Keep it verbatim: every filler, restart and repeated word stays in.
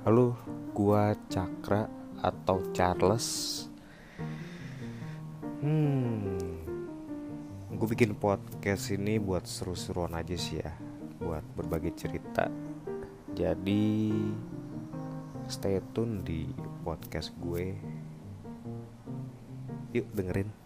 Halo, gua Cakra atau Charles. Hmm, gue bikin podcast ini buat seru-seruan aja sih ya, buat berbagi cerita. Jadi stay tune di podcast gue. Yuk dengerin.